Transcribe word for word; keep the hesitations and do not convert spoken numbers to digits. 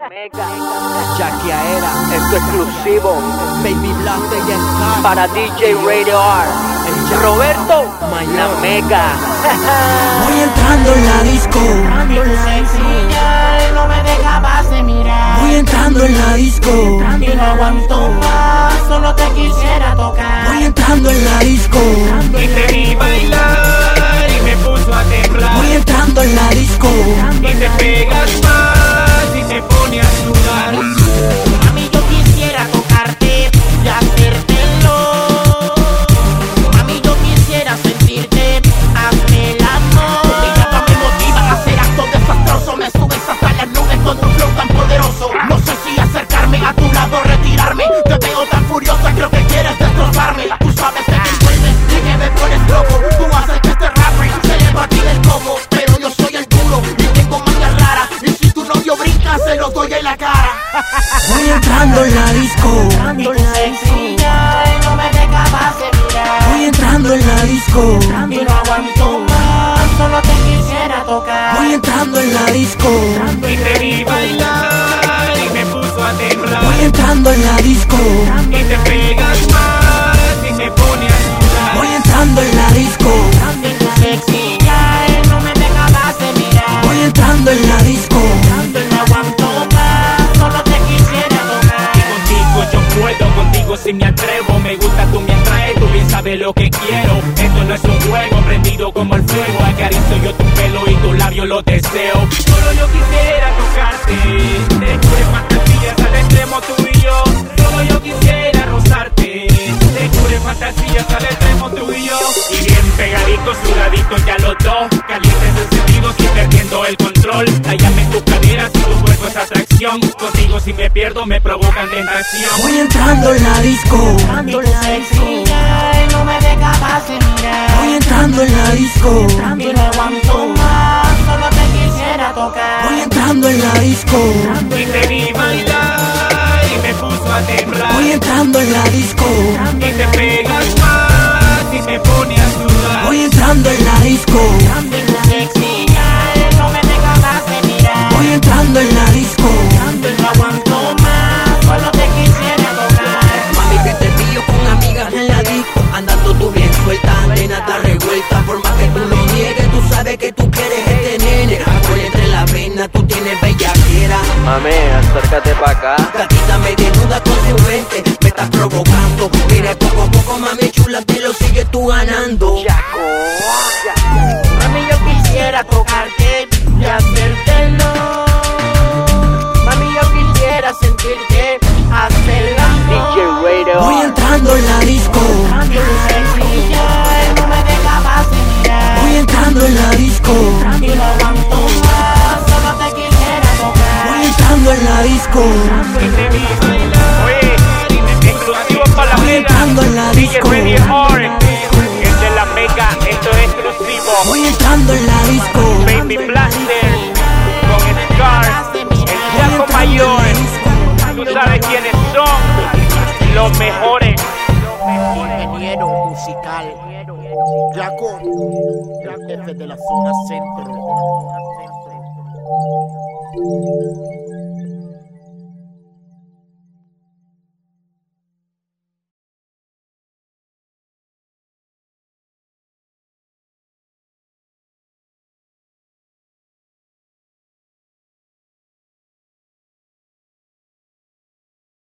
Jackie Aera, esto exclusivo. Baby Blaster y Scar para D J Radio R. Roberto, la Mega. Voy entrando en la disco. Y tu sencilla no me dejabas de mirar. Voy entrando en la disco. Y no aguanto más, solo te quisiera tocar. Voy entrando en la disco. Y te vi bailar y me puso a temblar. Voy entrando en la disco. Y te pegas más y te pone a sudar. Mami, yo quisiera tocarte y hacértelo. Mami, yo quisiera sentirte, hazme el amor. Y nada me motiva a hacer actos desastrosos. Me subes hasta las nubes con tu flow tan poderoso. No sé si acercarme a tu lado o retirarme. Te veo tan furiosa, creo que quieres destrozarme. Tú sabes que te envuelves y que me pones loco. Tú haces que este rapper se le partida el coco. Pero yo soy el duro y tengo maña rara. Y si tu novio brinca, se lo doy en la cara. Voy entrando en la disco. Y tu sencilla no me dejabas de mirar. Voy entrando en la disco. Y no aguanto más, solo te quisiera tocar. Voy entrando en la disco. Y te vi bailar y me puso a temblar. Voy entrando en la disco. Y te pegas más y te pone a sudar. Voy entrando en la disco. Y tu sencilla no me dejabas de mirar. Voy entrando en la disco. Y no aguanto más, solo te quisiera tocar. Y contigo yo puedo, contigo si me atrevo. Me gusta, tú me atraes, tú bien sabes lo que quiero. Esto no es un juego, prendido como el fuego. Acaricio yo tu pelo y tu labio lo deseo. Solo yo quisiera tocarte, te jure fantasías al extremo tú y yo. Solo yo quisiera rozarte, te jure fantasías al extremo tú y yo. Y bien pegaditos, sudaditos ya los dos, calientes encendidos y perdiendo el control. Hállame en tus caderas y tu cuerpo es atracción. Contigo si me pierdo me provocan tentación. Voy entrando en la disco. Y tu sencilla no me dejabas de mirar. Voy entrando en la disco. Y no aguanto más, solo te quisiera tocar. Voy entrando en la disco. Y te vi bailar y me puso a temblar. Voy entrando en la disco. Y te pegas más y te pone a sudar. Voy entrando en la disco. Y tu sencilla no me dejabas de mirar. Voy entrando en la disco. Y no aguanto más, solo te quisiera tocar. Mami, que te pillo con amigas en la disco, andando tú bien suelta, nena está revuelta. Por más que tú lo niegues, tú sabes que tú quieres este nene. Alcohol entre la vena, tú tienes bellaquera. Mami, acércate pa' acá. Gatita me desnuda con su mente, me estás provocando. Mira, poco a poco, mami chula, te lo sigues tú ganando. Mami, yo quisiera tocarte y hacértelo. Mami, yo quisiera sentirte, hacer el amor. D J Radio. Voy entrando en la disco. Y tu sencilla no me dejabas de mirar. Voy entrando en la disco. Y no aguanto más, solo te quisiera tocar. Voy entrando en la disco. Y te vi bailar. Oye, exclusivo para la Voy Mega. entrando en la D J disco. Radio R. Es de la Mega, esto es exclusivo. Voy entrando en la disco. Baby Blaster con Scar, el Jaco Mayor. Tú sabes quiénes son los mejores. Ingeniero musical Jaco, el jefe de la zona centro.